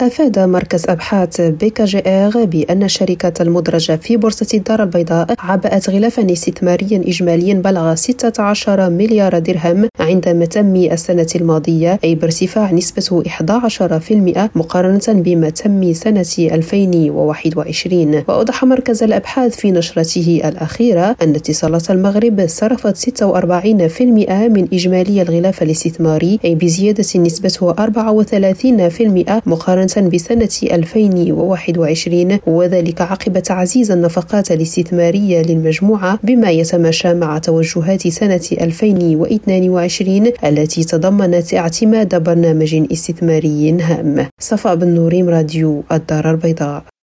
أفاد مركز أبحاث BKGR بأن الشركة المدرجة في بورصة الدار البيضاء عبأت غلافا استثماريا إجماليا بلغ 16 مليار درهم عندما تنمي السنة الماضية، أي بارتفاع نسبته 11% مقارنة بما تنمي سنة 2021. وأوضح مركز الأبحاث في نشرته الأخيرة أن اتصالات المغرب صرفت 46% من إجمالي الغلاف الاستثماري، أي بزيادة نسبته 34% مقارنة بسنة 2021، وذلك عقب تعزيز النفقات الاستثمارية للمجموعة بما يتماشى مع توجهات سنة 2022 التي تضمنت اعتماد برنامج استثماري هام. صفاء بن نوريم، راديو الدار البيضاء.